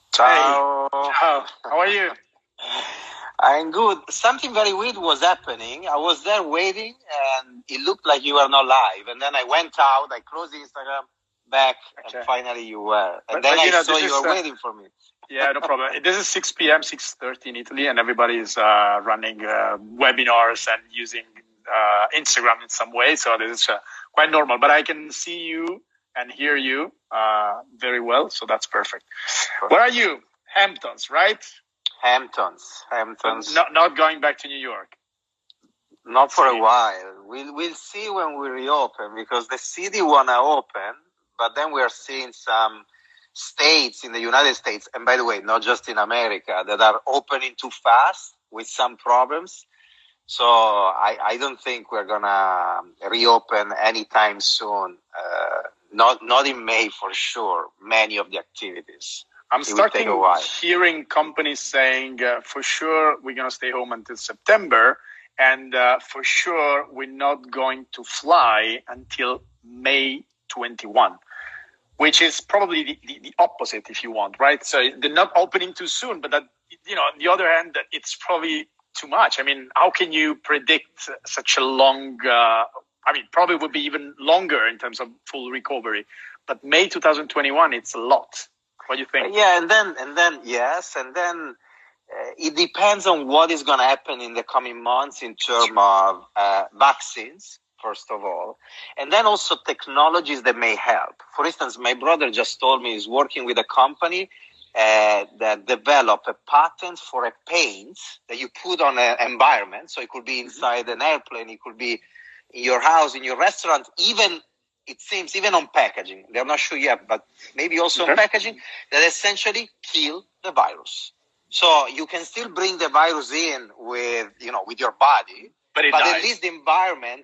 Ciao. Hey, ciao. How are you? I'm good. Something very weird was happening. I was there waiting, and it looked like you were not live. And then I went out, I closed Instagram, back, and finally you were. And then I saw you were waiting for me. Yeah, no problem. This is 6 p.m., 6:30 in Italy, and everybody is running webinars and using Instagram in some way. So this is quite normal. But I can see you and hear you very well, so that's perfect. Where are you? Hamptons, right? Hamptons. Not going back to New York. Not for a while. We'll see when we reopen, because the city wanna open, but then we are seeing some states in the United States, and by the way, not just in America, that are opening too fast with some problems. So I don't think we're gonna reopen anytime soon. Not in May for sure. Many of the activities. I'm starting hearing companies saying, for sure, we're going to stay home until September. And for sure, we're not going to fly until May 21, which is probably the opposite, if you want, right? So they're not opening too soon, but that, on the other hand, it's probably too much. I mean, how can you predict such a long, probably would be even longer in terms of full recovery. But May 2021, it's a lot. What do you think? Yeah, and then yes, and then it depends on what is going to happen in the coming months in terms of vaccines, first of all, and then also technologies that may help. For instance, my brother just told me he's working with a company that developed a patent for a paint that you put on an environment. So it could be inside an airplane, it could be in your house, in your restaurant, it seems even on packaging, they're not sure yet, but maybe also on packaging, that essentially kill the virus. So you can still bring the virus in with your body, but at least the environment,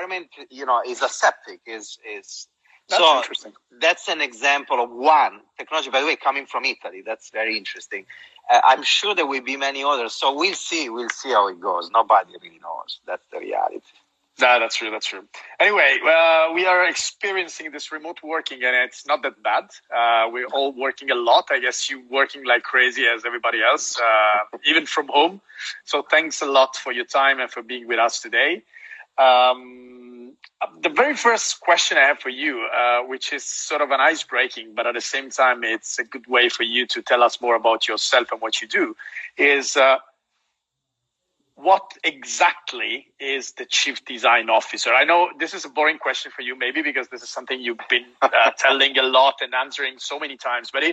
is aseptic, is. That's interesting. That's an example of one technology, by the way, coming from Italy. That's very interesting. I'm sure there will be many others. So we'll see how it goes. Nobody really knows. That's the reality. That's true. Anyway, we are experiencing this remote working, and it's not that bad. We're all working a lot. I guess you working like crazy as everybody else, even from home. So thanks a lot for your time and for being with us today. The very first question I have for you, which is sort of an ice-breaking, but at the same time, it's a good way for you to tell us more about yourself and what you do, is what exactly is the Chief Design Officer? I know this is a boring question for you, maybe because this is something you've been telling a lot and answering so many times. But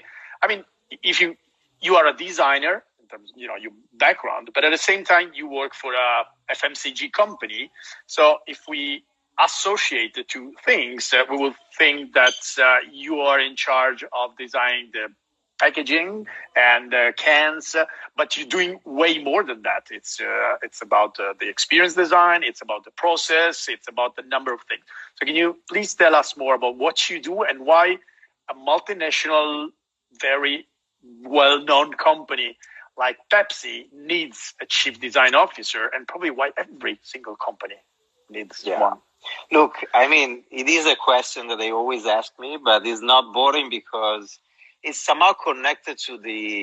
if you are a designer in terms of your background, but at the same time you work for a FMCG company. So if we associate the two things, we will think that you are in charge of designing the packaging and cans, but you're doing way more than that. It's about the experience design, it's about the process, it's about the number of things. So can you please tell us more about what you do and why a multinational, very well-known company like Pepsi needs a chief design officer, and probably why every single company needs one? Look, it is a question that they always ask me, but it's not boring because it's somehow connected to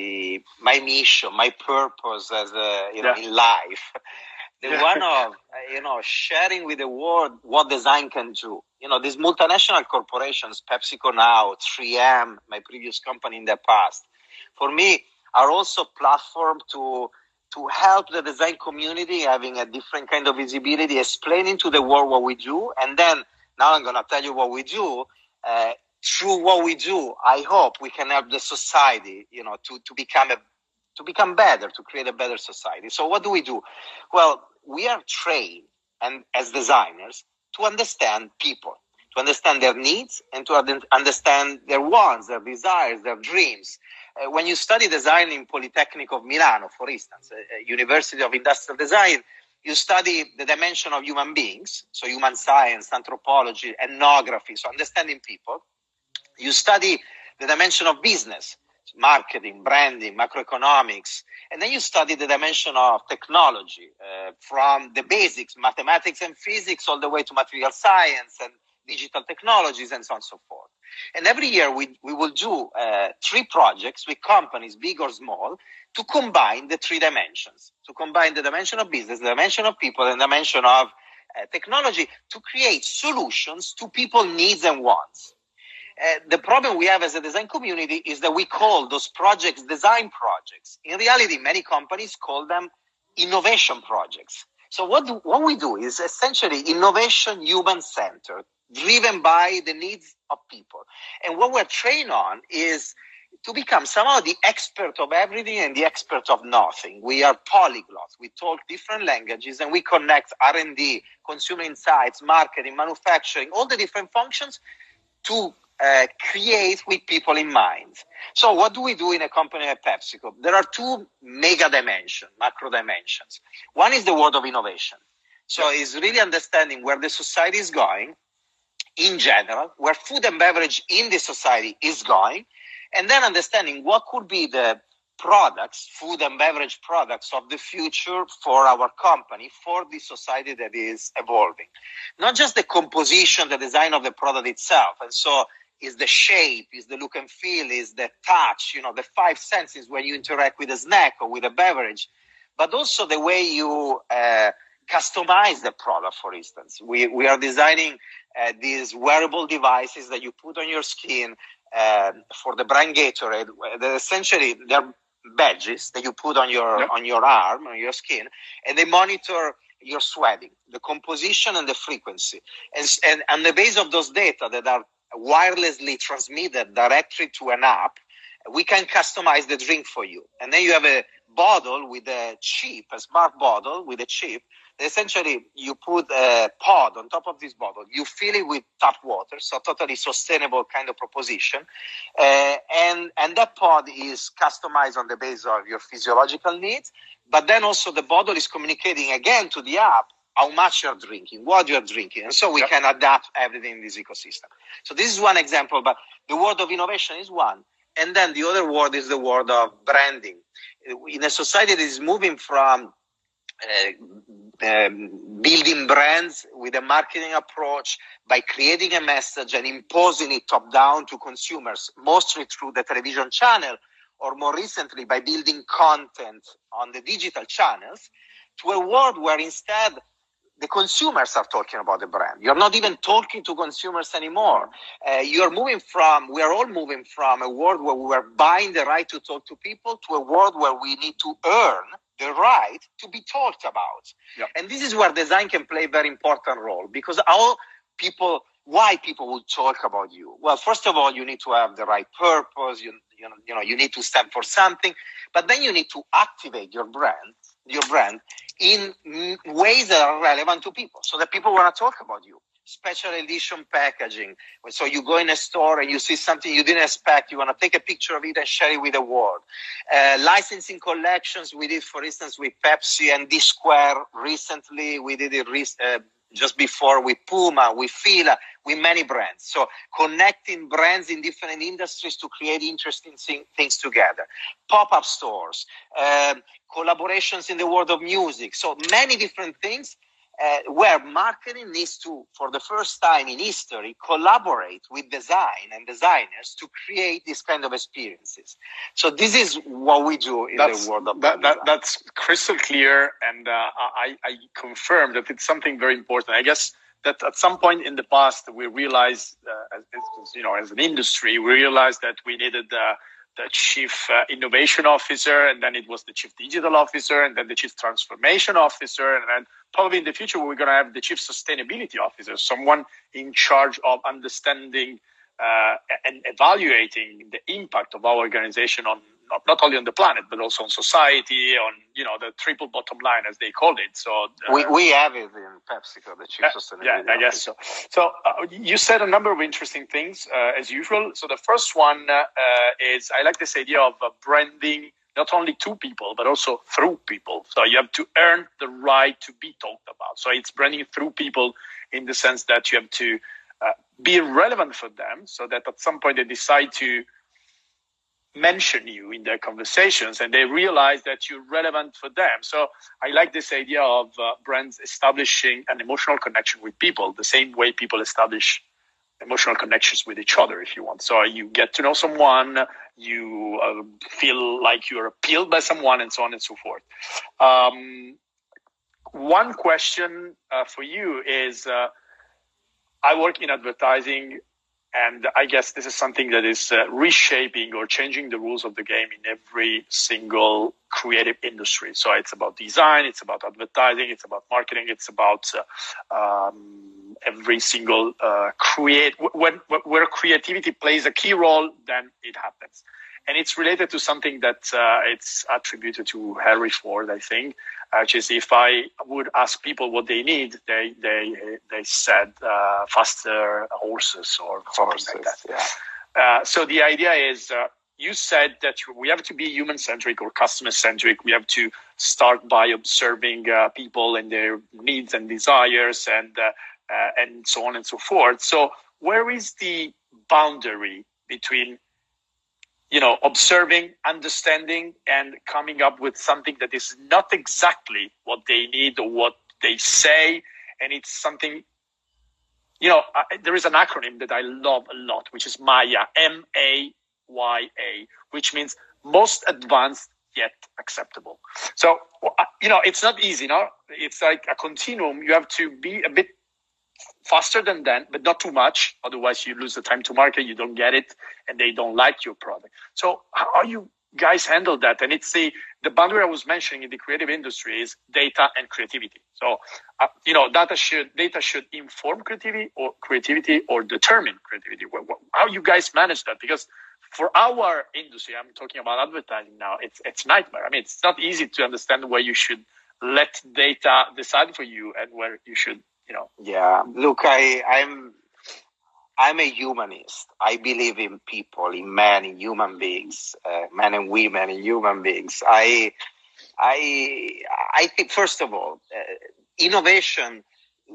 my mission, my purpose as in life. The one of sharing with the world what design can do. These multinational corporations, PepsiCo now, 3M, my previous company in the past, for me are also platform to help the design community having a different kind of visibility, explaining to the world what we do, and then now I'm going to tell you what we do. Through what we do, I hope we can help the society, to become better, to create a better society. So what do we do? Well, we are trained and as designers to understand people, to understand their needs and to understand their wants, their desires, their dreams. When you study design in Polytechnic of Milano, for instance, University of Industrial Design, you study the dimension of human beings, so human science, anthropology, ethnography, so understanding people. You study the dimension of business, marketing, branding, macroeconomics, and then you study the dimension of technology, from the basics, mathematics and physics, all the way to material science and digital technologies and so on and so forth. And every year we will do 3 projects with companies, big or small, to combine the 3 dimensions, to combine the dimension of business, the dimension of people, and the dimension of technology to create solutions to people's needs and wants. The problem we have as a design community is that we call those projects design projects. In reality, many companies call them innovation projects. So what we do is essentially innovation human-centered, driven by the needs of people. And what we're trained on is to become somehow the expert of everything and the expert of nothing. We are polyglots. We talk different languages and we connect R&D, consumer insights, marketing, manufacturing, all the different functions to create with people in mind. So what do we do in a company like PepsiCo? There are 2 mega dimensions, macro dimensions. One is the world of innovation. So it's really understanding where the society is going in general, where food and beverage in the society is going, and then understanding what could be the products, food and beverage products of the future for our company, for the society that is evolving. Not just the composition, the design of the product itself. And so is the shape, is the look and feel, is the touch, the 5 senses when you interact with a snack or with a beverage, but also the way you customize the product, for instance. We are designing these wearable devices that you put on your skin for the brand Gatorade. Essentially, they're badges that you put on your arm, on your skin, and they monitor your sweating, the composition and the frequency. And on the base of those data that are wirelessly transmitted directly to an app, we can customize the drink for you. And then you have a bottle with a chip, a smart bottle with a chip. Essentially, you put a pod on top of this bottle. You fill it with tap water, so totally sustainable kind of proposition. And that pod is customized on the basis of your physiological needs. But then also the bottle is communicating again to the app how much you're drinking, what you're drinking. And so we can adapt everything in this ecosystem. So this is one example, but the world of innovation is one. And then the other world is the world of branding. In a society that is moving from building brands with a marketing approach by creating a message and imposing it top down to consumers, mostly through the television channel, or more recently by building content on the digital channels, to a world where instead the consumers are talking about the brand. You're not even talking to consumers anymore. We are all moving from a world where we were buying the right to talk to people to a world where we need to earn the right to be talked about. Yep. And this is where design can play a very important role, because why people will talk about you? Well, first of all, you need to have the right purpose. You need to stand for something, but then you need to activate your brand in ways that are relevant to people, so that people want to talk about you. Special edition packaging. So you go in a store and you see something you didn't expect. You want to take a picture of it and share it with the world. Licensing collections. We did, for instance, with Pepsi and D-Square recently. We did it just before with Puma, with Fila, with many brands. So connecting brands in different industries to create interesting things together. Pop-up stores, collaborations in the world of music. So many different things where marketing needs to, for the first time in history, collaborate with design and designers to create these kind of experiences. So this is what we do in the world of design. That's crystal clear, and I confirm that it's something very important. I guess that at some point in the past, we realized, as an industry, we realized that we needed the chief innovation officer, and then it was the chief digital officer, and then the chief transformation officer, and then probably in the future we're going to have the chief sustainability officer, someone in charge of understanding and evaluating the impact of our organization on not only on the planet but also on society, on the triple bottom line as they called it. So we have it in PepsiCo, the chief sustainability officer. I guess so. So you said a number of interesting things as usual. So the first one is, I like this idea of branding not only to people, but also through people. So you have to earn the right to be talked about. So it's branding through people in the sense that you have to be relevant for them, so that at some point they decide to mention you in their conversations and they realize that you're relevant for them. So I like this idea of brands establishing an emotional connection with people, the same way people establish emotional connections with each other, if you want. So you get to know someone, you feel like you're appealed by someone, and so on and so forth. One question for you is, I work in advertising, and I guess this is something that is reshaping or changing the rules of the game in every single creative industry. So it's about design, it's about advertising, it's about marketing, it's about every single where creativity plays a key role, then it happens. And it's related to something that it's attributed to Henry Ford, I think, which is, if I would ask people what they need, they said faster horses or something like that. Yeah. So the idea is, you said that we have to be human-centric or customer-centric. We have to start by observing people and their needs and desires, and so on and so forth. So where is the boundary between, observing, understanding, and coming up with something that is not exactly what they need or what they say, and it's something, there is an acronym that I love a lot, which is MAYA, MAYA, which means most advanced yet acceptable. So, it's not easy, no? It's like a continuum. You have to be a bit faster than that, but not too much. Otherwise, you lose the time to market, you don't get it, and they don't like your product. So how you guys handle that? And it's the boundary I was mentioning in the creative industry is data and creativity. So, data should inform creativity or determine creativity. How you guys manage that? Because for our industry, I'm talking about advertising now, it's nightmare. I mean, it's not easy to understand where you should let data decide for you and where you should, Yeah, look, I'm a humanist. I believe in people, in men, in human beings, men and women, in human beings. I think, first of all, innovation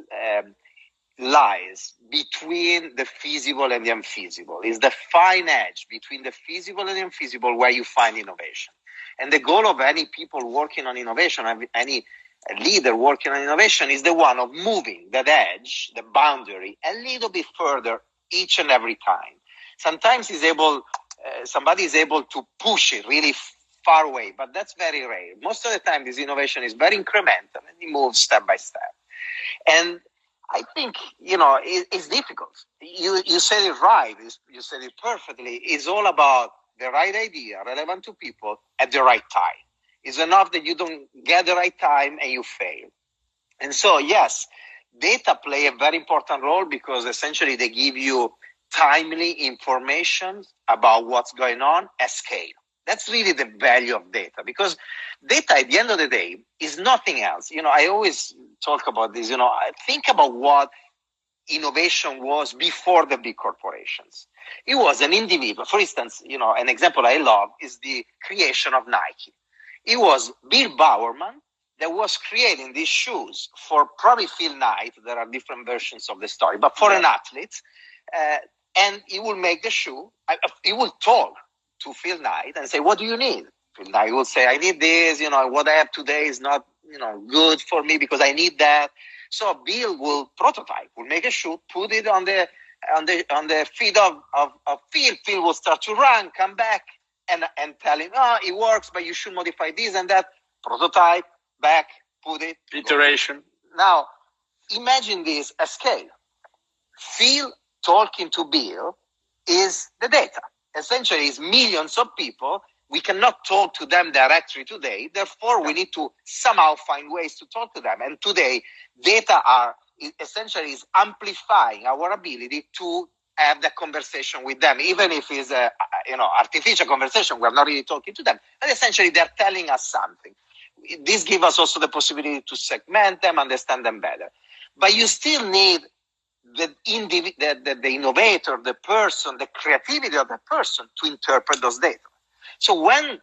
lies between the feasible and the unfeasible. It's the fine edge between the feasible and the unfeasible where you find innovation. And the goal of any people working on innovation, any leader working on innovation, is the one of moving that edge, the boundary, a little bit further each and every time. Sometimes somebody is able to push it really far away, but that's very rare. Most of the time, this innovation is very incremental and it moves step by step. And I think, it's difficult. You said it right. You said it perfectly. It's all about the right idea, relevant to people at the right time. It's enough that you don't get the right time and you fail. And so, yes, data play a very important role because essentially they give you timely information about what's going on at scale. That's really the value of data, because data at the end of the day is nothing else. I always talk about this, I think about what innovation was before the big corporations. It was an individual. For instance, an example I love is the creation of Nike. It was Bill Bowerman that was creating these shoes for probably Phil Knight. There are different versions of the story, but for an athlete, and he will make the shoe. He will talk to Phil Knight and say, "What do you need?" Phil Knight will say, "I need this. What I have today is not, good for me because I need that." So Bill will prototype, will make a shoe, put it on the feet of Phil. Phil will start to run, come back, and tell him, it works, but you should modify this and that. Prototype, back, put it. Iteration. Now, imagine this at scale. Phil talking to Bill is the data. Essentially, it's millions of people. We cannot talk to them directly today. Therefore, we need to somehow find ways to talk to them. And today, data essentially is amplifying our ability to have that conversation with them, even if it's a artificial conversation. We're not really talking to them, but essentially they're telling us something. This gives us also the possibility to segment them, understand them better. But you still need the innovator, the person, the creativity of the person to interpret those data. So when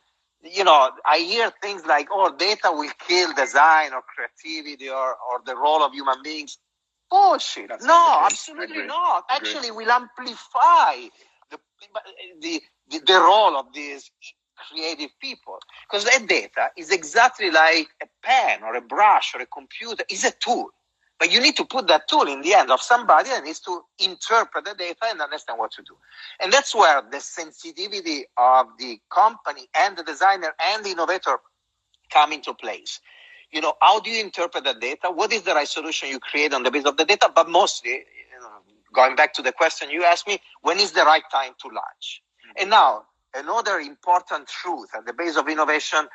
I hear things like, data will kill design or creativity or the role of human beings. Bullshit. No, absolutely not. Actually, will amplify the role of these creative people. Because that data is exactly like a pen or a brush or a computer. It's a tool. But you need to put that tool in the hand of somebody that needs to interpret the data and understand what to do. And that's where the sensitivity of the company and the designer and the innovator come into place. How do you interpret the data? What is the right solution you create on the basis of the data? But mostly, going back to the question you asked me, when is the right time to launch? And now, another important truth at the base of innovation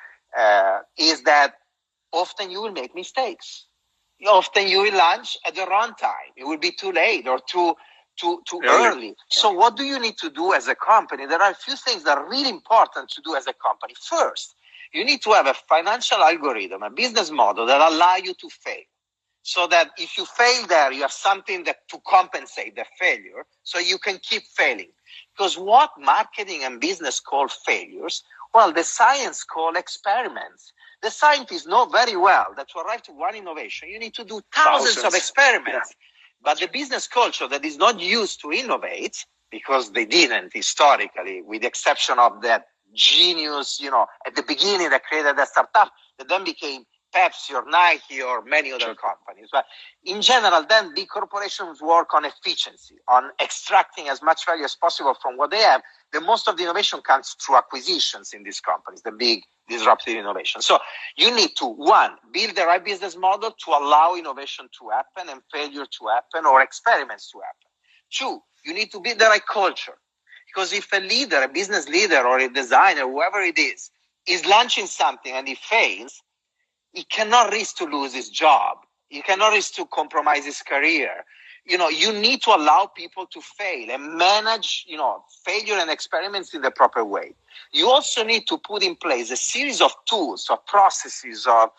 is that often you will make mistakes. Often you will launch at the wrong time. It will be too late or too early. Yeah. So what do you need to do as a company? There are a few things that are really important to do as a company. First, you need to have a financial algorithm, a business model that allow you to fail. So that if you fail there, you have something that to compensate the failure so you can keep failing. Because what marketing and business call failures, well, the science call experiments. The scientists know very well that to arrive to one innovation, you need to do thousands of experiments. Yeah. But the business culture that is not used to innovate, because they didn't historically, with the exception of that genius, at the beginning that created a startup that then became Pepsi or Nike or many other companies. But in general, then big corporations work on efficiency, on extracting as much value as possible from what they have. The most of the innovation comes through acquisitions in these companies, the big disruptive innovation. So you need to, one, build the right business model to allow innovation to happen and failure to happen or experiments to happen. Two, you need to build the right culture. Because if a leader, a business leader or a designer, whoever it is launching something and he fails, he cannot risk to lose his job. He cannot risk to compromise his career. You need to allow people to fail and manage, failure and experiments in the proper way. You also need to put in place a series of tools, of processes, of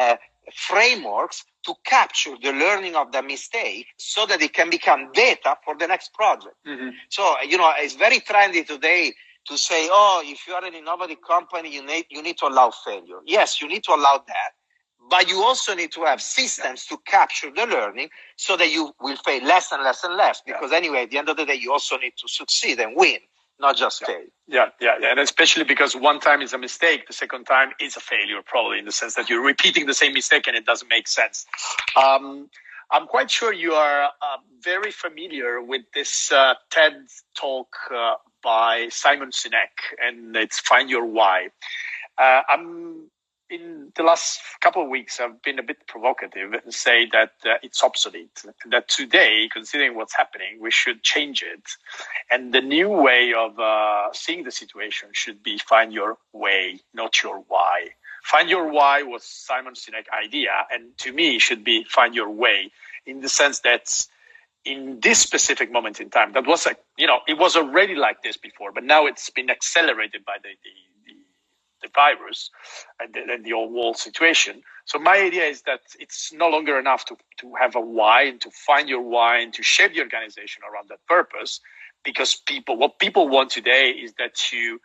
frameworks to capture the learning of the mistake so that it can become data for the next project. Mm-hmm. So, it's very trendy today to say, if you are an innovative company, you need to allow failure. Yes, you need to allow that. But you also need to have systems to capture the learning so that you will fail less and less and less. Because anyway, at the end of the day, you also need to succeed and win, not just fail. Yeah. And especially because one time is a mistake, the second time is a failure, probably in the sense that you're repeating the same mistake and it doesn't make sense. I'm quite sure you are very familiar with this TED talk by Simon Sinek, and it's Find Your Why. In the last couple of weeks, I've been a bit provocative and say that it's obsolete, that today, considering what's happening, we should change it. And the new way of seeing the situation should be find your way, not your why. Find your why was Simon Sinek's idea, and to me, it should be find your way, in the sense that in this specific moment in time, that was it was already like this before, but now it's been accelerated by the virus and the whole world situation. So my idea is that it's no longer enough to have a why and to find your why and to shape the organization around that purpose, because what people want today is that you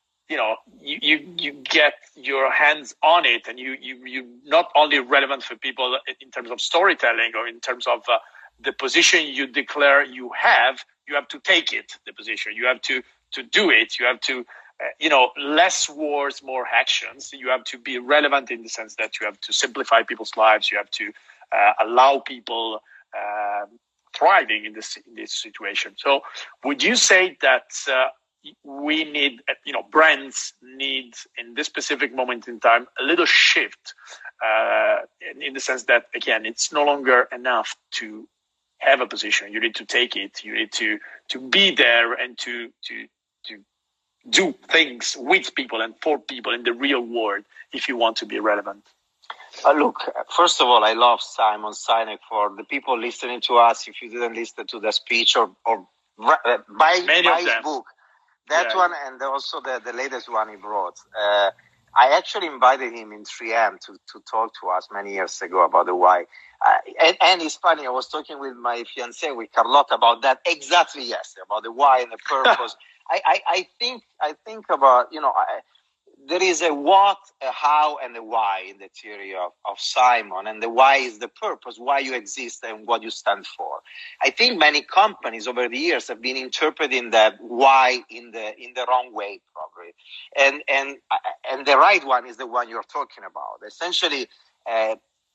get your hands on it, and you not only relevant for people in terms of storytelling or in terms of the position you declare you have to take it, the position. You have to do it. You have to less words, more actions. You have to be relevant in the sense that you have to simplify people's lives. You have to allow people thriving in this situation. So would you say that we need, brands need in this specific moment in time, a little shift in the sense that, again, it's no longer enough to have a position. You need to take it. You need to be there and to do things with people and for people in the real world if you want to be relevant. Look, first of all, I love Simon Sinek. For the people listening to us, if you didn't listen to the speech or buy his book, one and also the latest one he brought. I actually invited him in 3M to talk to us many years ago about the why. And it's funny, I was talking with my fiancée, with Carlotta, about that exactly yesterday, about the why and the purpose. I think about, there is a what, a how, and a why in the theory of Simon. And the why is the purpose, why you exist and what you stand for. I think many companies over the years have been interpreting that why in the wrong way, probably. And the right one is the one you're talking about. Essentially,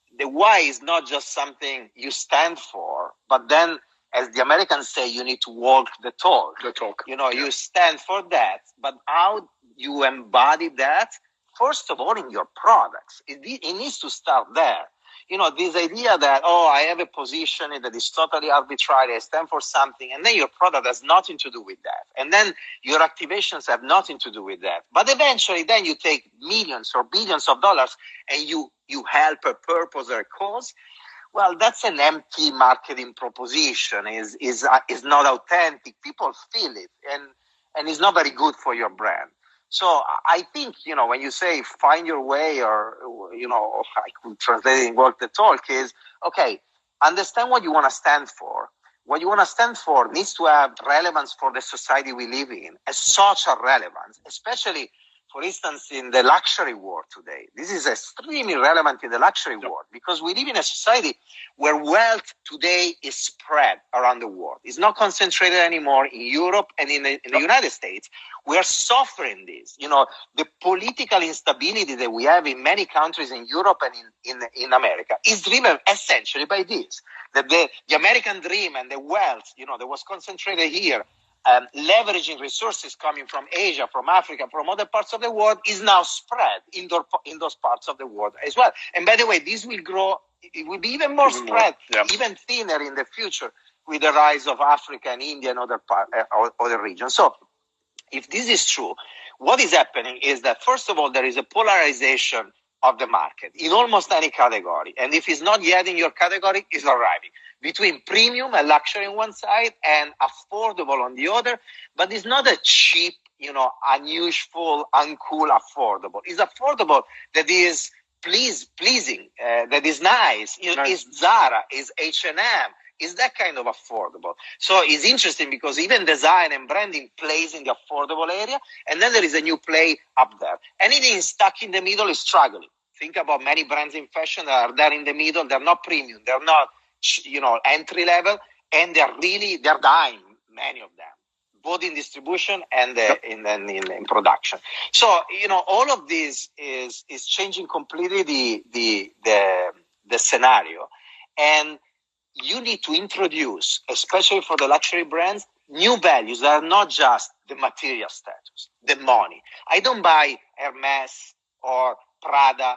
the why is not just something you stand for, but then, as the Americans say, you need to walk the talk. The talk. You stand for that, but how you embody that, first of all, in your products. It needs to start there. This idea that, I have a position that is totally arbitrary, I stand for something, and then your product has nothing to do with that. And then your activations have nothing to do with that. But eventually, then you take millions or billions of dollars and you help a purpose or a cause. Well, that's an empty marketing proposition. Is not authentic. People feel it, and it's not very good for your brand. So I think, when you say find your way, or, I could translate in work the talk, is, okay, understand what you want to stand for. What you want to stand for needs to have relevance for the society we live in, a social relevance, especially, for instance, in the luxury world today. This is extremely relevant in the luxury world, because we live in a society where wealth today is spread around the world. It's not concentrated anymore in Europe and in the United States. We are suffering this. The political instability that we have in many countries in Europe and in America is driven essentially by this. That the American dream and the wealth, that was concentrated here, leveraging resources coming from Asia, from Africa, from other parts of the world, is now spread in those parts of the world as well. And by the way, this will grow. It will be even more spread, even thinner in the future, with the rise of Africa and India and other regions. So, if this is true, what is happening is that, first of all, there is a polarization of the market in almost any category. And if it's not yet in your category, it's arriving. Between premium and luxury on one side and affordable on the other. But it's not a cheap, unusual, uncool affordable. It's affordable that is pleasing, that is nice. It's Zara, it's H&M. Is that kind of affordable? So it's interesting because even design and branding plays in the affordable area, and then there is a new play up there. Anything stuck in the middle is struggling. Think about many brands in fashion that are there in the middle. They're not premium. They're not, entry level, and they're dying, many of them, both in distribution and in production. So, all of this is changing completely the scenario, and you need to introduce, especially for the luxury brands, new values that are not just the material status, the money. I don't buy Hermes or Prada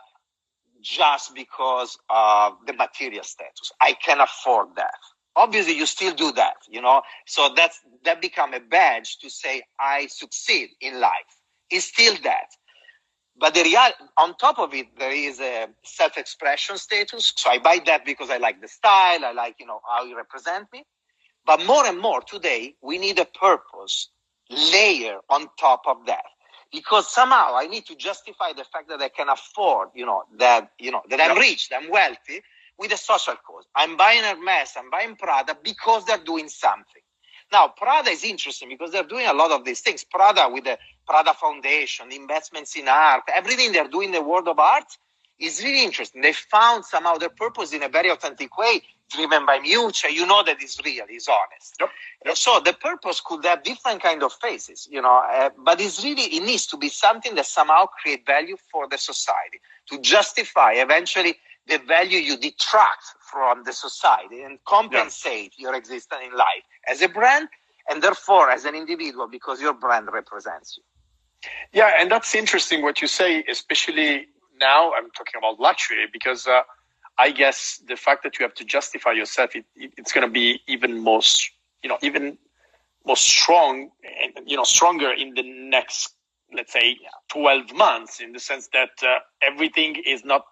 just because of the material status. I can afford that. Obviously, you still do that, So that become a badge to say, I succeed in life. It's still that. But on top of it, there is a self-expression status. So I buy that because I like the style. I like, how you represent me. But more and more today, we need a purpose layer on top of that. Because somehow I need to justify the fact that I can afford, that I'm rich, that I'm wealthy, with a social cause. I'm buying Hermes, I'm buying Prada because they're doing something. Now, Prada is interesting because they're doing a lot of these things. Prada, with the Prada Foundation, the investments in art, everything they're doing in the world of art is really interesting. They found somehow their purpose in a very authentic way, driven by mutual. That it's real, it's honest. Yep. So the purpose could have different kind of faces, but it needs to be something that somehow create value for the society to justify eventually the value you detract from the society and compensate your existence in life as a brand and therefore as an individual because your brand represents you. Yeah, and that's interesting what you say, especially now I'm talking about luxury because I guess the fact that you have to justify yourself, it's going to be even more, even more strong, stronger in the next, let's say, 12 months in the sense that everything is not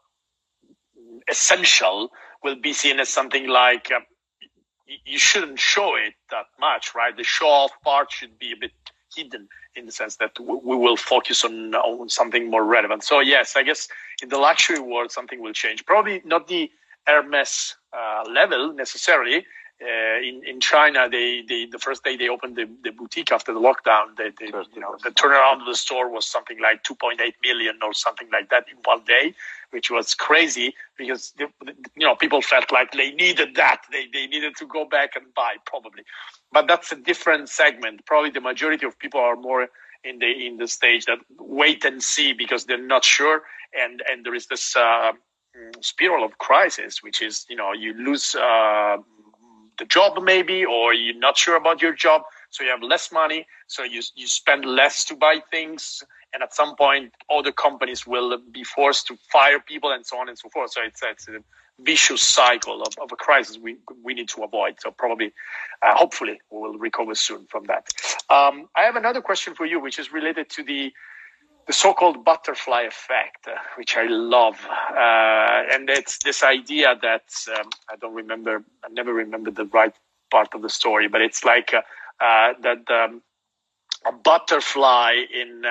essential will be seen as something like you shouldn't show it that much, right? The show-off part should be a bit hidden in the sense that we will focus on something more relevant. So yes, I guess in the luxury world, something will change. Probably not the Hermes level necessarily. In China, the first day they opened the boutique after the lockdown, the turnaround of the store was something like 2.8 million or something like that in one day, which was crazy because people felt like they needed that. They needed to go back and buy probably, but that's a different segment. Probably the majority of people are more in the stage that wait and see because they're not sure, and there is this spiral of crisis, which is, you lose the job maybe, or you're not sure about your job, so you have less money, so you spend less to buy things, and at some point other companies will be forced to fire people and so on and so forth. So it's a vicious cycle of a crisis we need to avoid. So probably, hopefully, we will recover soon from that. I have another question for you, which is related to the so-called butterfly effect, which I love. And it's this idea that, I never remember the right part of the story, but it's like that a butterfly in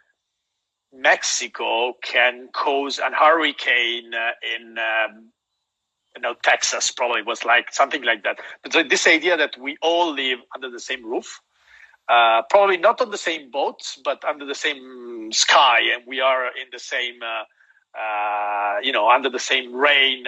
Mexico can cause a hurricane in Texas, probably was like something like that. But this idea that we all live under the same roof, probably not on the same boat, but under the same sky, and we are in the same, under the same rain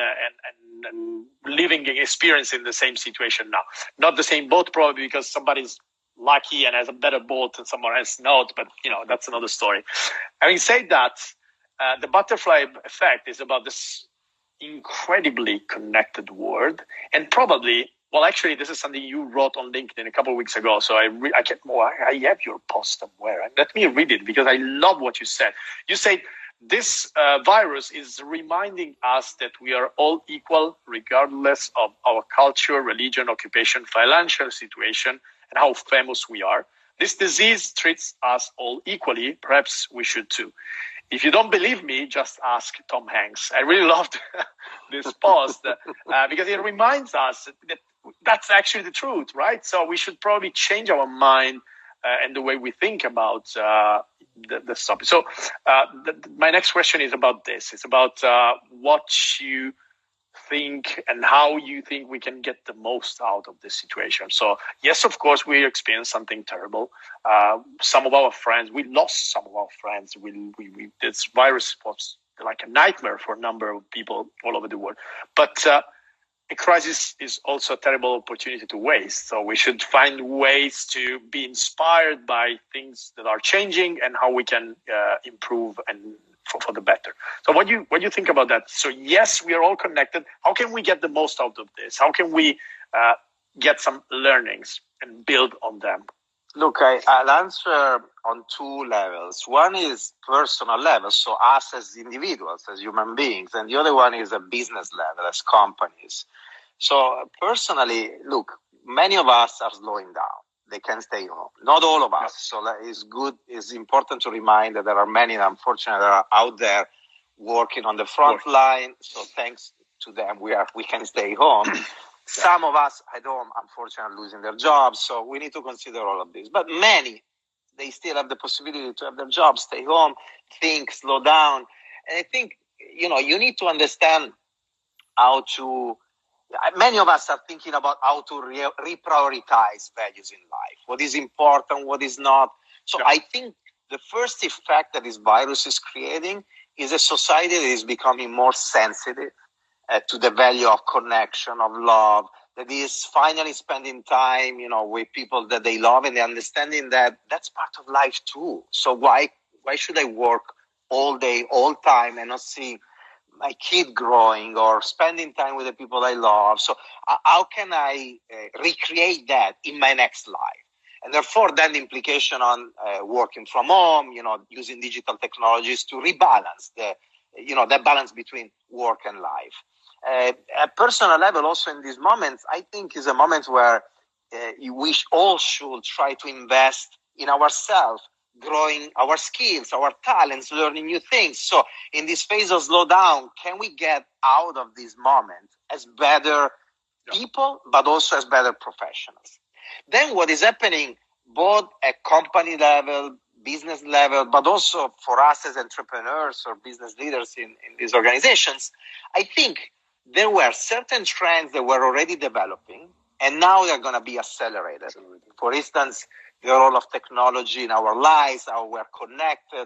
and living, experiencing the same situation now. Not the same boat, probably because somebody's lucky and has a better boat and someone else not, but that's another story. Having said that, the butterfly effect is about this incredibly connected world, and probably, well, actually, this is something you wrote on LinkedIn a couple of weeks ago. So I have your post somewhere. Let me read it because I love what you said. You said this virus is reminding us that we are all equal, regardless of our culture, religion, occupation, financial situation, and how famous we are. This disease treats us all equally. Perhaps we should too. If you don't believe me, just ask Tom Hanks. I really loved this post because it reminds us that that's actually the truth, right? So we should probably change our mind and the way we think about the topic. So my next question is about this. It's about what you think and how you think we can get the most out of this situation. So yes, of course, we experienced something terrible. Some of our friends, we lost some of our friends. This virus was like a nightmare for a number of people all over the world. But a crisis is also a terrible opportunity to waste. So we should find ways to be inspired by things that are changing and how we can improve and for the better. So what do you think about that? So yes, we are all connected. How can we get the most out of this? How can we get some learnings and build on them? Look, I'll answer on two levels. One is personal level, so us as individuals, as human beings, and the other one is a business level, as companies. So personally, look, many of us are slowing down. They can stay home. Not all of us. So it's important to remind that there are many, unfortunately, that are out there working on the front line. So thanks to them, we can stay home. Some of us at home, unfortunately, losing their jobs. So we need to consider all of this. But many, they still have the possibility to have their jobs, stay home, think, slow down. And I think, you need to understand how to. Many of us are thinking about how to reprioritize values in life. What is important, what is not. So I think the first effect that this virus is creating is a society that is becoming more sensitive to the value of connection, of love, that is finally spending time, with people that they love, and understanding that that's part of life too. So why should I work all day, all time, and not see my kid growing or spending time with the people I love? So how can I recreate that in my next life? And therefore, then the implication on working from home, using digital technologies to rebalance that balance between work and life. At personal level, also in these moments, I think is a moment where we all should try to invest in ourselves, growing our skills, our talents, learning new things. So in this phase of slowdown, can we get out of this moment as better people, but also as better professionals? Then what is happening both at company level, business level, but also for us as entrepreneurs or business leaders in these organizations, I think there were certain trends that were already developing, and now they're going to be accelerated. For instance, the role of technology in our lives, how we're connected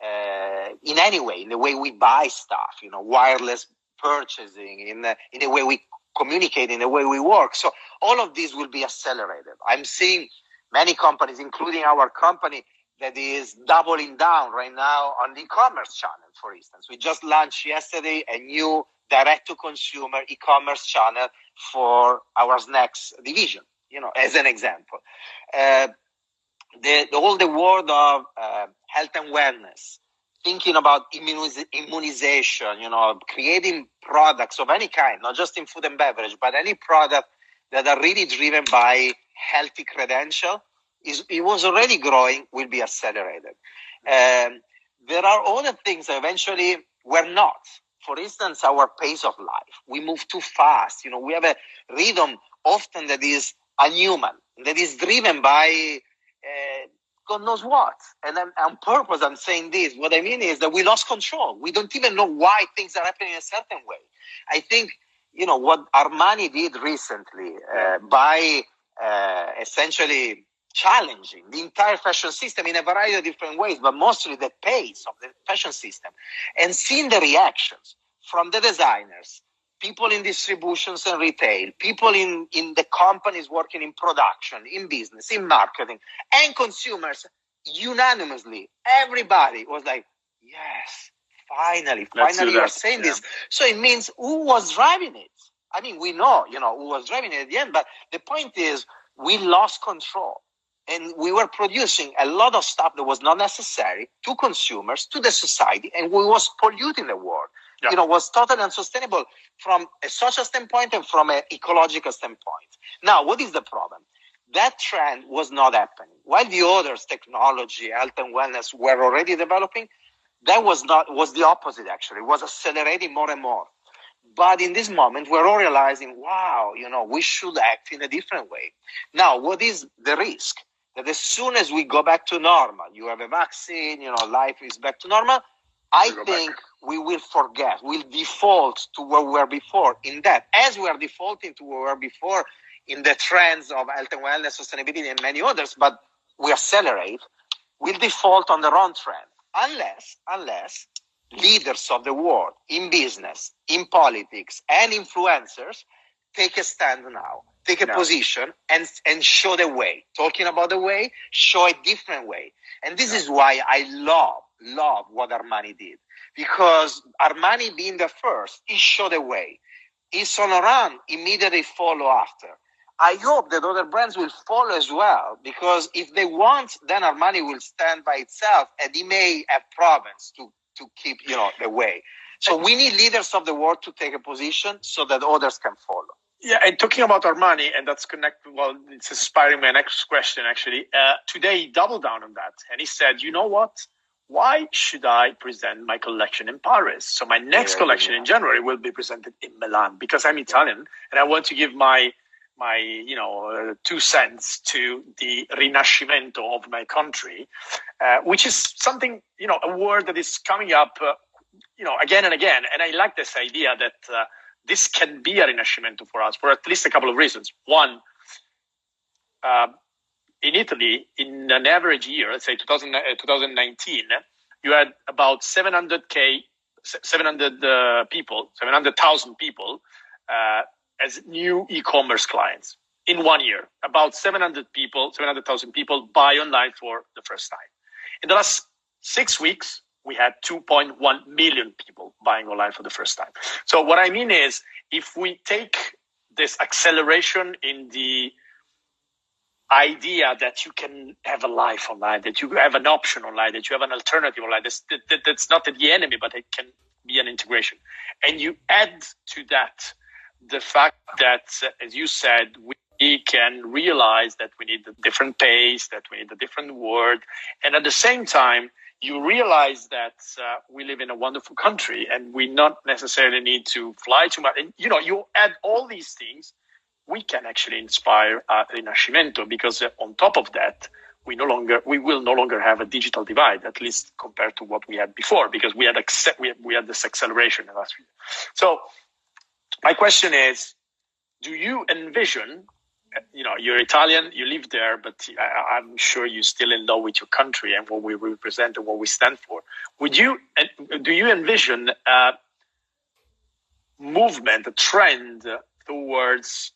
in any way, in the way we buy stuff, wireless purchasing, in the way we communicate, in the way we work. So all of these will be accelerated. I'm seeing many companies, including our company, that is doubling down right now on the e-commerce channel, for instance. We just launched yesterday a new direct-to-consumer e-commerce channel for our snacks division, as an example. All the world of health and wellness, thinking about immunization, creating products of any kind, not just in food and beverage, but any product that are really driven by healthy credential, it was already growing, will be accelerated. There are other things that eventually were not. For instance, our pace of life. We move too fast. We have a rhythm often that is unhuman, that is driven by God knows what. And on purpose, I'm saying this. What I mean is that we lost control. We don't even know why things are happening in a certain way. I think, what Armani did recently by essentially challenging the entire fashion system in a variety of different ways, but mostly the pace of the fashion system, and seeing the reactions from the designers, people in distributions and retail, people in the companies working in production, in business, in marketing, and consumers, unanimously, everybody was like, yes, finally you are saying this. So it means who was driving it? I mean, we know, who was driving it at the end, but the point is we lost control. And we were producing a lot of stuff that was not necessary to consumers, to the society, and we was polluting the world. Yeah. Was totally unsustainable from a social standpoint and from an ecological standpoint. Now, what is the problem? That trend was not happening. While the others, technology, health and wellness, were already developing, that was the opposite, actually. It was accelerating more and more. But in this moment, we're all realizing, wow, we should act in a different way. Now, what is the risk? That as soon as we go back to normal, you have a vaccine, life is back to normal, I think we will forget, we'll default to where we were before in that, as we are defaulting to where we were before in the trends of health and wellness, sustainability, and many others, but we accelerate, we'll default on the wrong trend. Unless leaders of the world in business, in politics, and influencers take a stand now. Take a position and show the way. Talking about the way, show a different way. And this is why I love what Armani did. Because Armani being the first, he showed the way. Yves Saint Laurent immediately follow after. I hope that other brands will follow as well, because if they want, then Armani will stand by itself and he may have problems to keep, the way. So we need leaders of the world to take a position so that others can follow. Yeah, and talking about Armani, and that's connected, it's inspiring my next question, actually. Today, he doubled down on that. And he said, you know what? Why should I present my collection in Paris? So my next collection in January will be presented in Milan, because I'm Italian and I want to give my 2 cents to the Rinascimento of my country, which is something, a word that is coming up, again and again. And I like this idea that this can be a Rinascimento for us for at least a couple of reasons. One, in Italy, in an average year, let's say 2019, you had about 700,000 people as new e-commerce clients in 1 year. About 700,000 people buy online for the first time. In the last 6 weeks, we had 2.1 million people buying online for the first time. So what I mean is, if we take this acceleration in the idea that you can have a life online, that you have an option online, that you have an alternative online, that's not the enemy, but it can be an integration. And you add to that the fact that, as you said, we can realize that we need a different pace, that we need a different word. And at the same time, you realize that we live in a wonderful country and we not necessarily need to fly too much. And, you add all these things, we can actually inspire Rinascimento, because on top of that, we will no longer have a digital divide, at least compared to what we had before, because we had this acceleration in the last few years. So my question is, do you envision, you're Italian, you live there, but I'm sure you're still in love with your country and what we represent and what we stand for. Do you envision a movement, a trend towards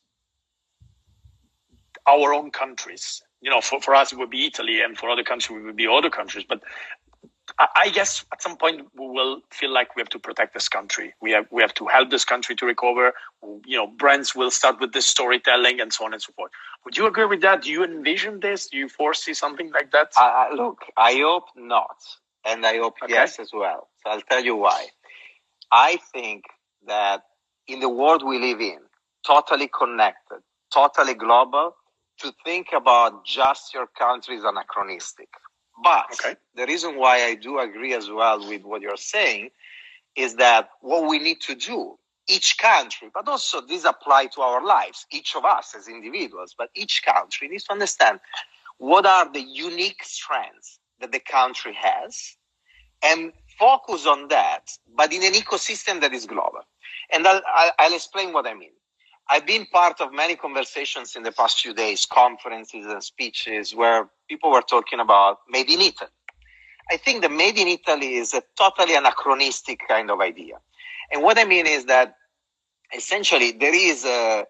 our own countries? For us, it would be Italy, and for other countries, it would be other countries. But I guess at some point we will feel like we have to protect this country. We have to help this country to recover. Brands will start with this storytelling and so on and so forth. Would you agree with that? Do you envision this? Do you foresee something like that? Look, I hope not. And I hope yes as well. So I'll tell you why. I think that in the world we live in, totally connected, totally global, to think about just your country is anachronistic. But the reason why I do agree as well with what you're saying is that what we need to do, each country, but also this applies to our lives, each of us as individuals, but each country needs to understand what are the unique strengths that the country has and focus on that, but in an ecosystem that is global. And I'll explain what I mean. I've been part of many conversations in the past few days, conferences and speeches where people were talking about made in Italy. I think the made in Italy is a totally anachronistic kind of idea. And what I mean is that essentially there is an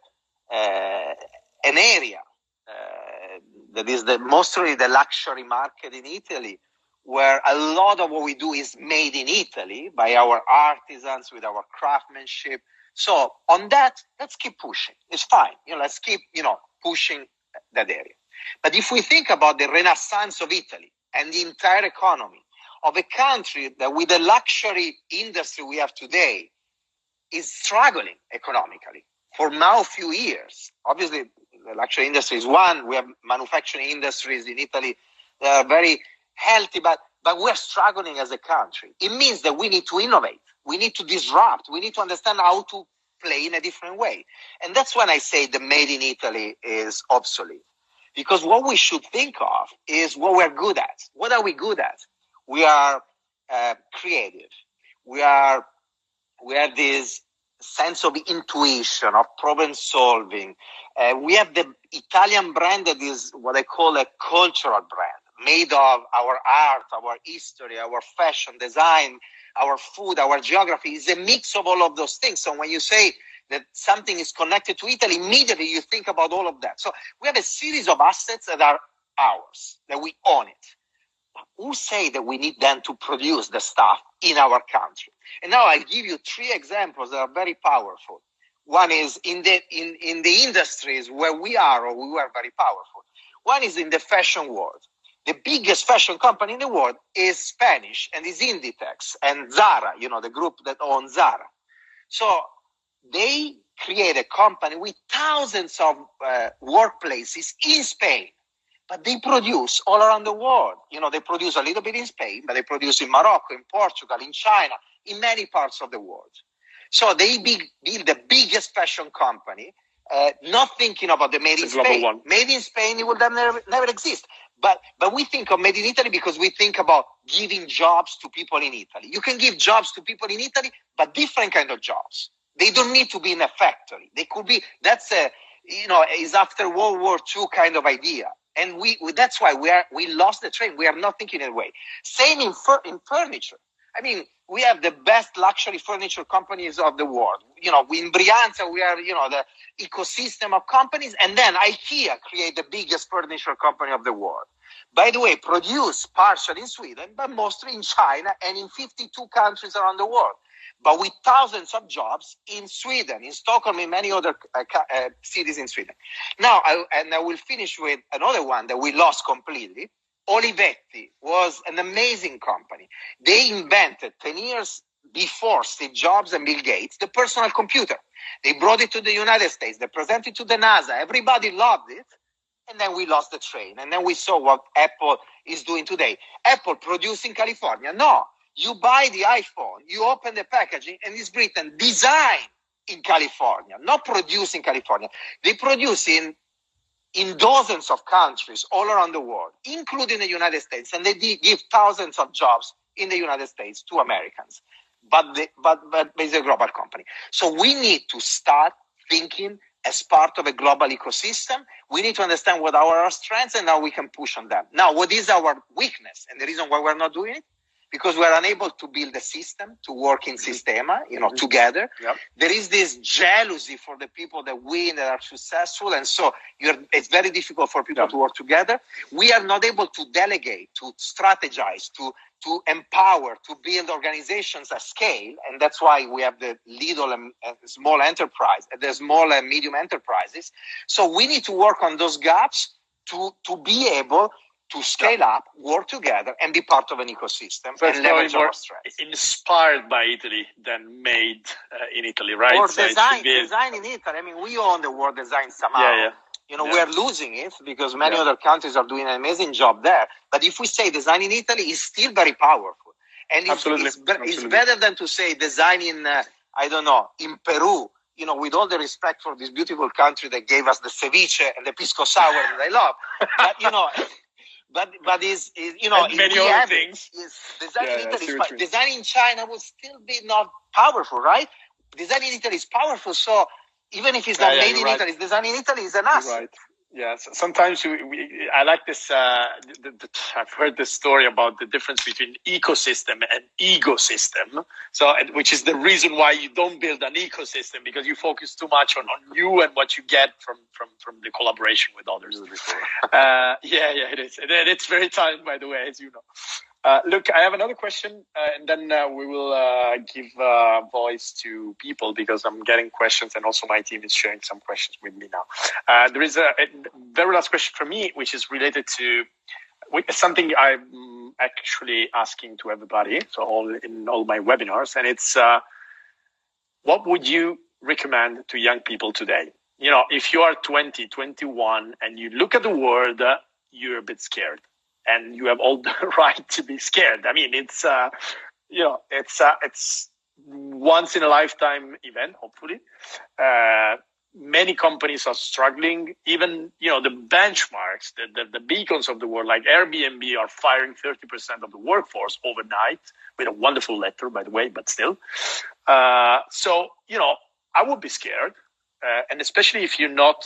area that is mostly the luxury market in Italy, where a lot of what we do is made in Italy by our artisans with our craftsmanship. So on that, let's keep pushing. It's fine. Let's keep, pushing that area. But if we think about the renaissance of Italy and the entire economy of a country that with the luxury industry we have today is struggling economically for now a few years. Obviously, the luxury industry is one. We have manufacturing industries in Italy that are very healthy, but we're struggling as a country. It means that we need to innovate. We need to disrupt. We need to understand how to play in a different way. And that's when I say the made in Italy is obsolete. Because what we should think of is what we're good at. What are we good at? We are creative. We have this sense of intuition, of problem solving. We have the Italian brand that is what I call a cultural brand, made of our art, our history, our fashion, design, our food, our geography. Is a mix of all of those things. So when you say that something is connected to Italy, immediately you think about all of that. So we have a series of assets that are ours, that we own it. But who say that we need then to produce the stuff in our country? And now I'll give you 3 examples that are very powerful. One is in the industries where we are or we were very powerful. One is in the fashion world. The biggest fashion company in the world is Spanish and is Inditex and Zara, the group that owns Zara. So they create a company with thousands of workplaces in Spain, but they produce all around the world. They produce a little bit in Spain, but they produce in Morocco, in Portugal, in China, in many parts of the world. So they build the biggest fashion company, not thinking about the made in Spain. One. Made in Spain, it will never exist. But we think of made in Italy because we think about giving jobs to people in Italy. You can give jobs to people in Italy, but different kind of jobs. They don't need to be in a factory. They could be, is after World War II kind of idea. And that's why we lost the train. We are not thinking in a way. Same in furniture. I mean, we have the best luxury furniture companies of the world. In Brianza, we are, the ecosystem of companies. And then IKEA create the biggest furniture company of the world. By the way, produced partially in Sweden, but mostly in China and in 52 countries around the world. But with thousands of jobs in Sweden, in Stockholm, in many other cities in Sweden. Now, I will finish with another one that we lost completely. Olivetti was an amazing company. They invented 10 years before Steve Jobs and Bill Gates, the personal computer. They brought it to the United States. They presented it to the NASA. Everybody loved it. And then we lost the train. And then we saw what Apple is doing today. Apple produced in California. No, you buy the iPhone, you open the packaging, and it's written design in California, not produced in California. They produce in dozens of countries all around the world, including the United States, and they give thousands of jobs in the United States to Americans. But it's a global company. So we need to start thinking as part of a global ecosystem. We need to understand what are our strengths and how we can push on them. Now, what is our weakness? And the reason why we're not doing it? because we are unable to build a system to work in sistema, together. Yep. There is this jealousy for the people that win, that are successful, and so it's very difficult for people to work together. We are not able to delegate, to strategize, to empower, to build organizations at scale, and that's why we have the little and small enterprise, the small and medium enterprises. So we need to work on those gaps to be able to scale up, work together, and be part of an ecosystem. So and leverage our strengths. Inspired by Italy than made in Italy, right? Or design in Italy. I mean, we own the word design somehow. We are losing it because many other countries are doing an amazing job there. But if we say design in Italy, it's still very powerful. And it's better than to say design in, in Peru, with all the respect for this beautiful country that gave us the ceviche and the pisco sour that I love. But, but is many other things. Design in Italy design in China will still be not powerful, right? Design in Italy is powerful, so even if it's not made in Italy, design in Italy is an asset. Right. Yeah. Sometimes I like this. I've heard this story about the difference between ecosystem and ecosystem. So, which is the reason why you don't build an ecosystem, because you focus too much on you and what you get from the collaboration with others. It is. And it's very timed, by the way, as you know. Look, I have another question, and then we will give voice to people, because I'm getting questions, and also my team is sharing some questions with me now. There is a very last question from me, which is related to something I'm actually asking to everybody, so in all my webinars, and it's what would you recommend to young people today? If you are 20, 21, and you look at the world, you're a bit scared. And you have all the right to be scared. I mean, it's once in a lifetime event, hopefully. Many companies are struggling. Even, the benchmarks, the beacons of the world, like Airbnb, are firing 30% of the workforce overnight, with a wonderful letter, by the way, but still. So, I would be scared. And especially if you're not,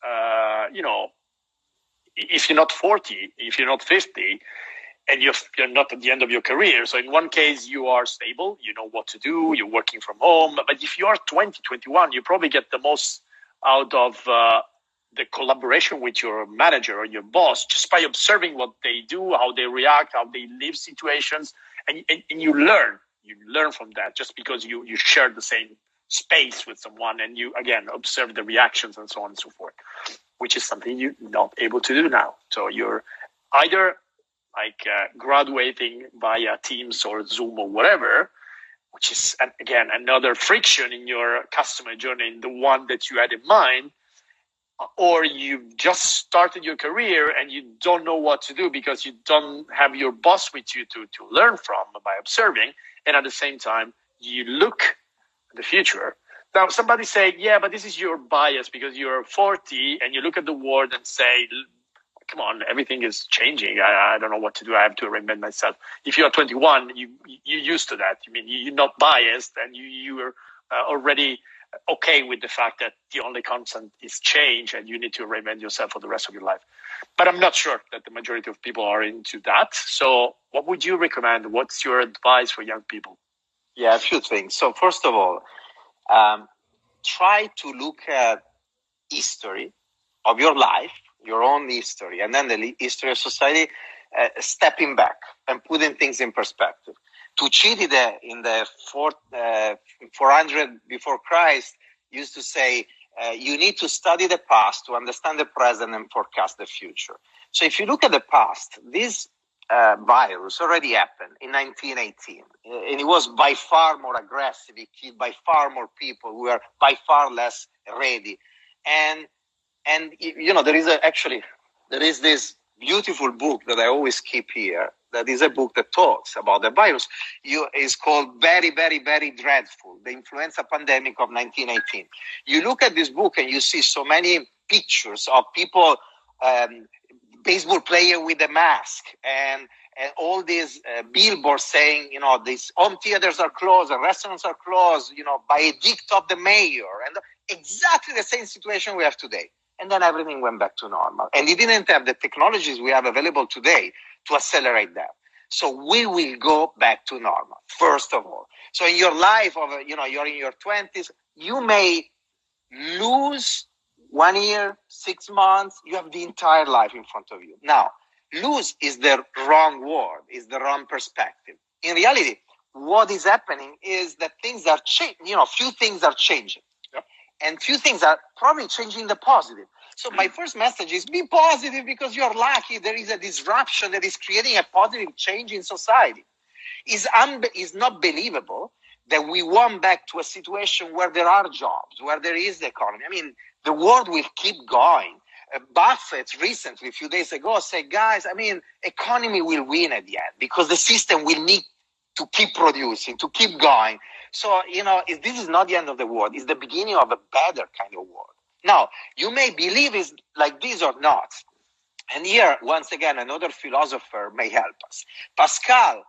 if you're not 40, if you're not 50, and you're not at the end of your career. So in one case, you are stable, you know what to do, you're working from home. But if you are 20, 21, you probably get the most out of the collaboration with your manager or your boss, just by observing what they do, how they react, how they live situations. And you learn from that, just because you share the same space with someone, and you, again, observe the reactions and so on and so forth, which is something you're not able to do now. So you're either graduating via Teams or Zoom or whatever, which is, again, another friction in your customer journey, in the one that you had in mind, or you've just started your career and you don't know what to do because you don't have your boss with you to learn from by observing. And at the same time, you look at the future. Now, somebody say, yeah, but this is your bias because you're 40 and you look at the world and say, come on, everything is changing. I don't know what to do. I have to reinvent myself. If you're 21, you're used to that. I mean, you're not biased, and you're already okay with the fact that the only constant is change, and you need to reinvent yourself for the rest of your life. But I'm not sure that the majority of people are into that. So what would you recommend? What's your advice for young people? Yeah, a few things. So first of all, try to look at history of your life, your own history, and then the history of society, stepping back and putting things in perspective. Tucídides in the 400 before Christ used to say, you need to study the past to understand the present and forecast the future. So if you look at the past, this virus already happened in 1918, and it was by far more aggressive. It killed by far more people who were by far less ready. And there is this beautiful book that I always keep here. That is a book that talks about the virus. It's called Very, Very, Very Dreadful, The Influenza Pandemic of 1918. You look at this book and you see so many pictures of people, baseball player with a mask, and all these billboards saying, these home theaters are closed and restaurants are closed, by edict of the mayor, and exactly the same situation we have today. And then everything went back to normal. And it didn't have the technologies we have available today to accelerate that. So we will go back to normal, first of all. So in your life, you're in your 20s, you may lose 1 year, 6 months, you have the entire life in front of you. Now, lose is the wrong word, is the wrong perspective. In reality, what is happening is that things are changing, few things are changing. Yep. And few things are probably changing the positive. So my first message is be positive because you're lucky there is a disruption that is creating a positive change in society. It's not believable that we want back to a situation where there are jobs, where there is the economy. I mean, the world will keep going. Buffett recently, a few days ago, said, guys, economy will win at the end because the system will need to keep producing, to keep going. So, this is not the end of the world. It's the beginning of a better kind of world. Now, you may believe it's like this or not. And here, once again, another philosopher may help us. Pascal,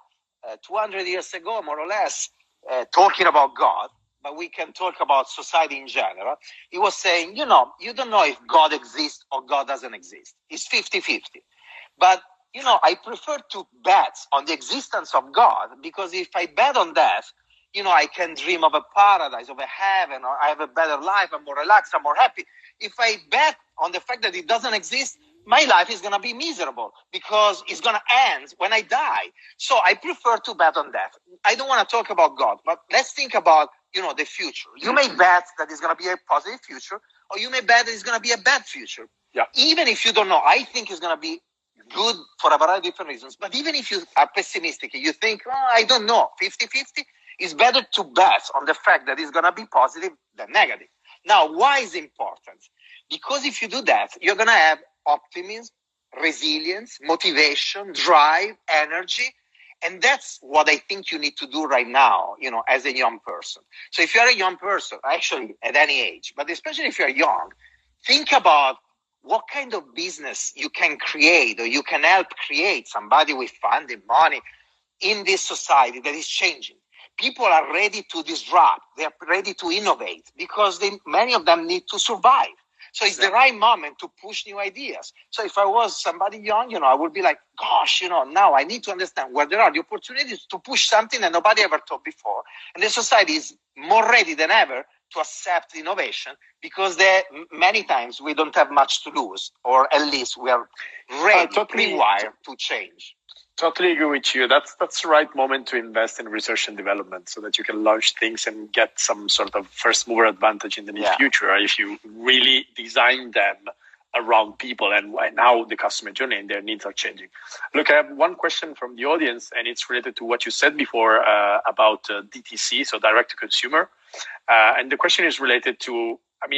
200 years ago, more or less, talking about God, but we can talk about society in general. He was saying, you don't know if God exists or God doesn't exist. It's 50-50. But, I prefer to bet on the existence of God because if I bet on that, I can dream of a paradise, of a heaven, or I have a better life, I'm more relaxed, I'm more happy. If I bet on the fact that it doesn't exist, my life is going to be miserable because it's going to end when I die. So I prefer to bet on that. I don't want to talk about God, but let's think about, the future. You may bet that it's going to be a positive future, or you may bet that it's going to be a bad future. Yeah. Even if you don't know, I think it's going to be good for a variety of different reasons. But even if you are pessimistic, you think, I don't know, 50-50, it's better to bet on the fact that it's going to be positive than negative. Now, why is it important? Because if you do that, you're going to have optimism, resilience, motivation, drive, energy. And that's what I think you need to do right now, as a young person. So if you're a young person, actually at any age, but especially if you're young, think about what kind of business you can create or you can help create, somebody with funding, money, in this society that is changing. People are ready to disrupt. They're ready to innovate because many of them need to survive. So it's the right moment to push new ideas. So if I was somebody young, I would be like, gosh, now I need to understand where there are the opportunities to push something that nobody ever thought before. And the society is more ready than ever to accept innovation because many times we don't have much to lose, or at least we are ready, pre-wired to change. Totally agree with you. That's the right moment to invest in research and development so that you can launch things and get some sort of first mover advantage in the near future if you really design them around people and now the customer journey and their needs are changing. Look, I have one question from the audience, and it's related to what you said before about DTC, so direct to consumer. And the question is related to,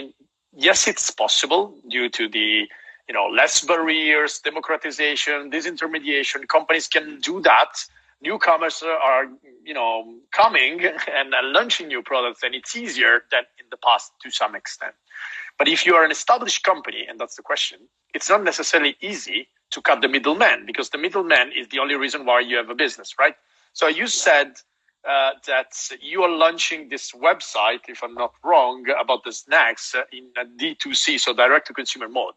yes, it's possible due to the less barriers, democratization, disintermediation. Companies can do that. Newcomers are, coming and launching new products, and it's easier than in the past to some extent. But if you are an established company, and that's the question, it's not necessarily easy to cut the middleman because the middleman is the only reason why you have a business, right? So you said that you are launching this website, if I'm not wrong, about the snacks in a D2C, so direct to consumer mode.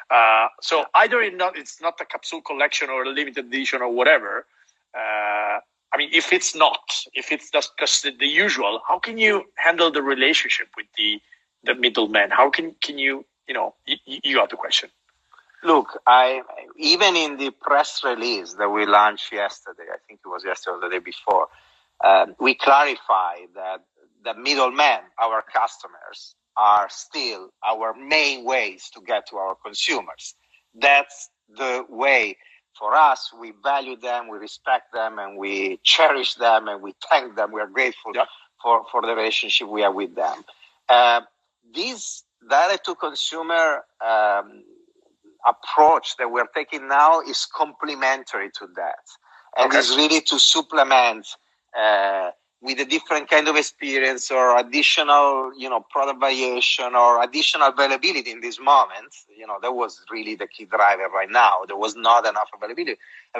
So either it's not a capsule collection or a limited edition or whatever. If it's just the usual, how can you handle the relationship with the middleman? How can you, you got the question. Look, even in the press release that we launched yesterday, I think it was yesterday or the day before, we clarified that the middlemen, our customers, are still our main ways to get to our consumers. That's the way for us. We value them, we respect them, and we cherish them, and we thank them. We are grateful for the relationship we have with them. This direct-to-consumer approach that we're taking now is complementary to that, and is really to supplement with a different kind of experience or additional, product variation or additional availability in this moment. That was really the key driver right now. There was not enough availability,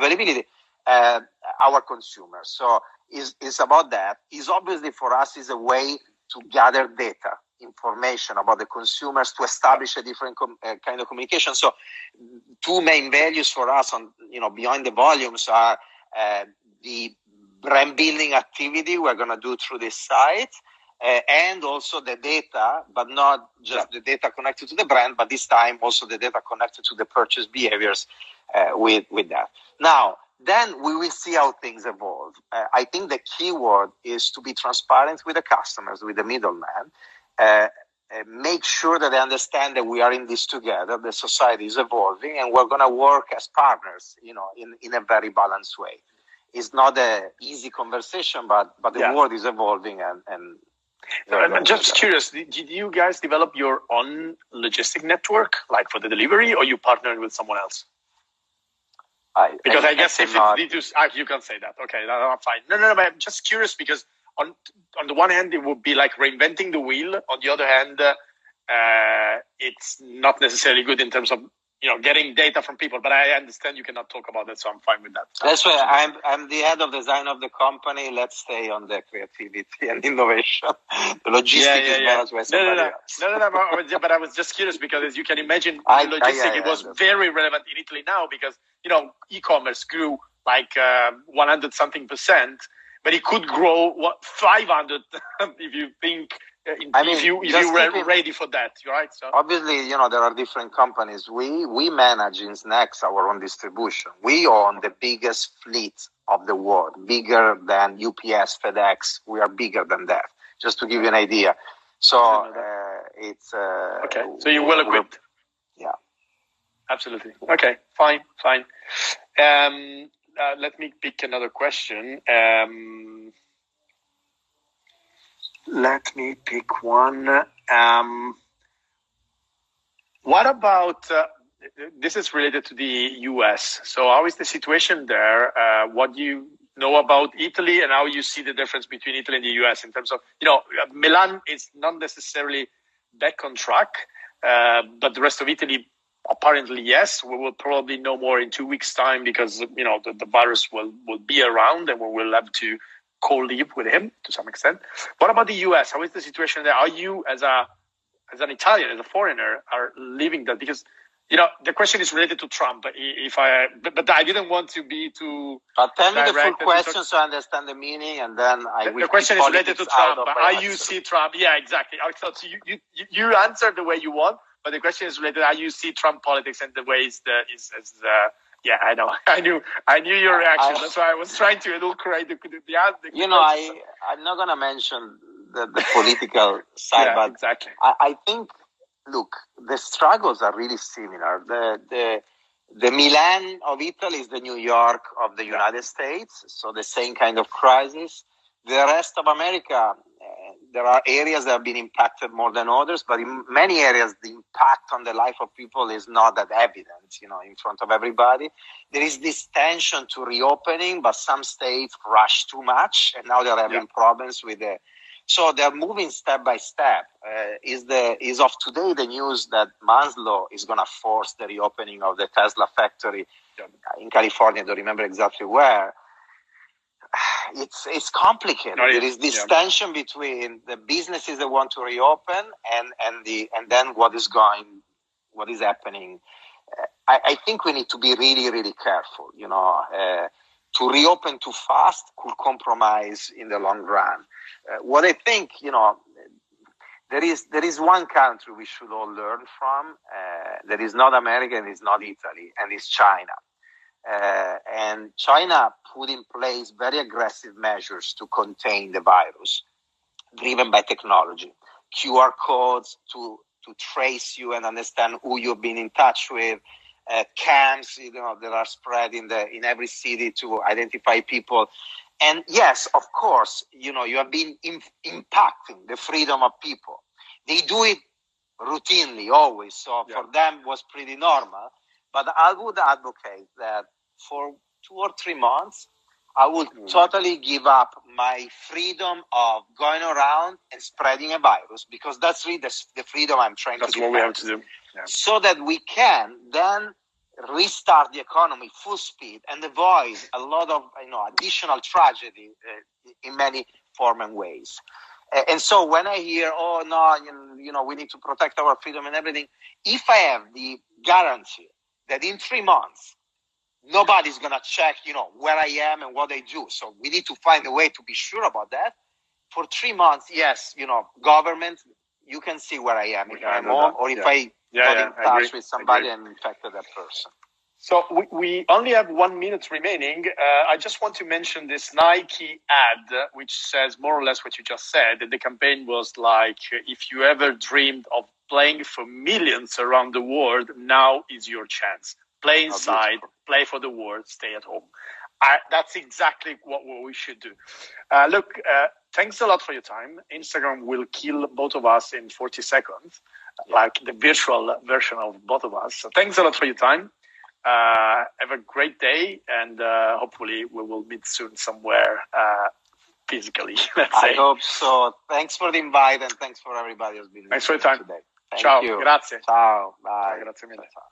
our consumers. So it's about that. It's obviously for us is a way to gather data, information about the consumers to establish a different kind of communication. So two main values for us on, beyond the volumes are the brand building activity we're going to do through this site, and also the data, but not just the data connected to the brand, but this time also the data connected to the purchase behaviors with that. Now, then we will see how things evolve. I think the key word is to be transparent with the customers, with the middleman, make sure that they understand that we are in this together, the society is evolving, and we're going to work as partners, in a very balanced way. It's not an easy conversation, but the world is evolving, and I'm just curious, did you guys develop your own logistic network, like for the delivery, or you partnered with someone else? Because I guess if you can say that. Okay, no, fine. No, but I'm just curious because on the one hand, it would be like reinventing the wheel. On the other hand, it's not necessarily good in terms of getting data from people. But I understand you cannot talk about that, so I'm fine with that. That's why I'm the head of design of the company. Let's stay on the creativity and innovation. The logistics is managed by somebody else. No. But I was just curious because, as you can imagine, it was very relevant in Italy now because e-commerce grew like 100-something%, but it could grow 500 if you think. If you were ready for that, right? So obviously, there are different companies. We manage in Snacks our own distribution. We own the biggest fleet of the world, bigger than UPS, FedEx. We are bigger than that. Just to give you an idea. So it's okay. So you're well equipped. Yeah. Absolutely. Okay. Fine. Let me pick another question. Let me pick one. What about, this is related to the US. So how is the situation there? What do you know about Italy and how you see the difference between Italy and the US in terms of, Milan is not necessarily back on track, but the rest of Italy, apparently, yes. We will probably know more in 2 weeks' time because, the virus will be around and we will have to co-live with him to some extent. What about the US? How is the situation there? Are you, as an Italian, as a foreigner, are living that? Because the question is related to Trump. But I didn't want to be too. But tell me the full question so I understand the meaning, and then I will. The question is related to Trump. How you see Trump? Yeah, exactly. So you answer the way you want, but the question is related to how you see Trump politics and the ways yeah, I know. I knew your reaction. That's why I was trying to elucidate the answer. I'm not going to mention the political side, but exactly. I think, look, the struggles are really similar. The Milan of Italy is the New York of the United States, so the same kind of crisis. The rest of America, there are areas that have been impacted more than others, but in many areas, the impact on the life of people is not that evident, in front of everybody. There is this tension to reopening, but some states rush too much, and now they're having problems with so they're moving step by step. Is of today the news that Manslow is going to force the reopening of the Tesla factory in California. I don't remember exactly where. It's complicated. There is this tension between the businesses that want to reopen and then what is happening. I think we need to be really, really careful. To reopen too fast could compromise in the long run. What I think, there is one country we should all learn from. That is not America and is not Italy, and it's China. And China put in place very aggressive measures to contain the virus, driven by technology, QR codes to trace you and understand who you've been in touch with, camps, that are spread in every city to identify people. And yes, of course, you have been impacting the freedom of people. They do it routinely, always. So for them, it was pretty normal. But I would advocate that for 2 or 3 months, I would totally give up my freedom of going around and spreading a virus, because that's really the freedom I'm trying to do. That's what we have to do. Yeah. So that we can then restart the economy full speed and avoid a lot of additional tragedy in many forms and ways. And so when I hear, we need to protect our freedom and everything, if I have the guarantee that in 3 months nobody's going to check, where I am and what I do. So we need to find a way to be sure about that. For 3 months, yes, government, you can see where I am if I'm home or if I got in touch with somebody and infected that person. So we only have 1 minute remaining. I just want to mention this Nike ad, which says more or less what you just said. And the campaign was like, if you ever dreamed of playing for millions around the world, now is your chance. Play inside, play for the world, stay at home. That's exactly what we should do. Look, thanks a lot for your time. Instagram will kill both of us in 40 seconds, like the virtual version of both of us. So thanks a lot for your time. Have a great day, and hopefully we will meet soon somewhere physically. Let's say. I hope so. Thanks for the invite, and thanks for everybody who's been. Thanks for your time today. Ciao. You. Grazie. Ciao. Bye. Ciao, grazie mille. Ciao.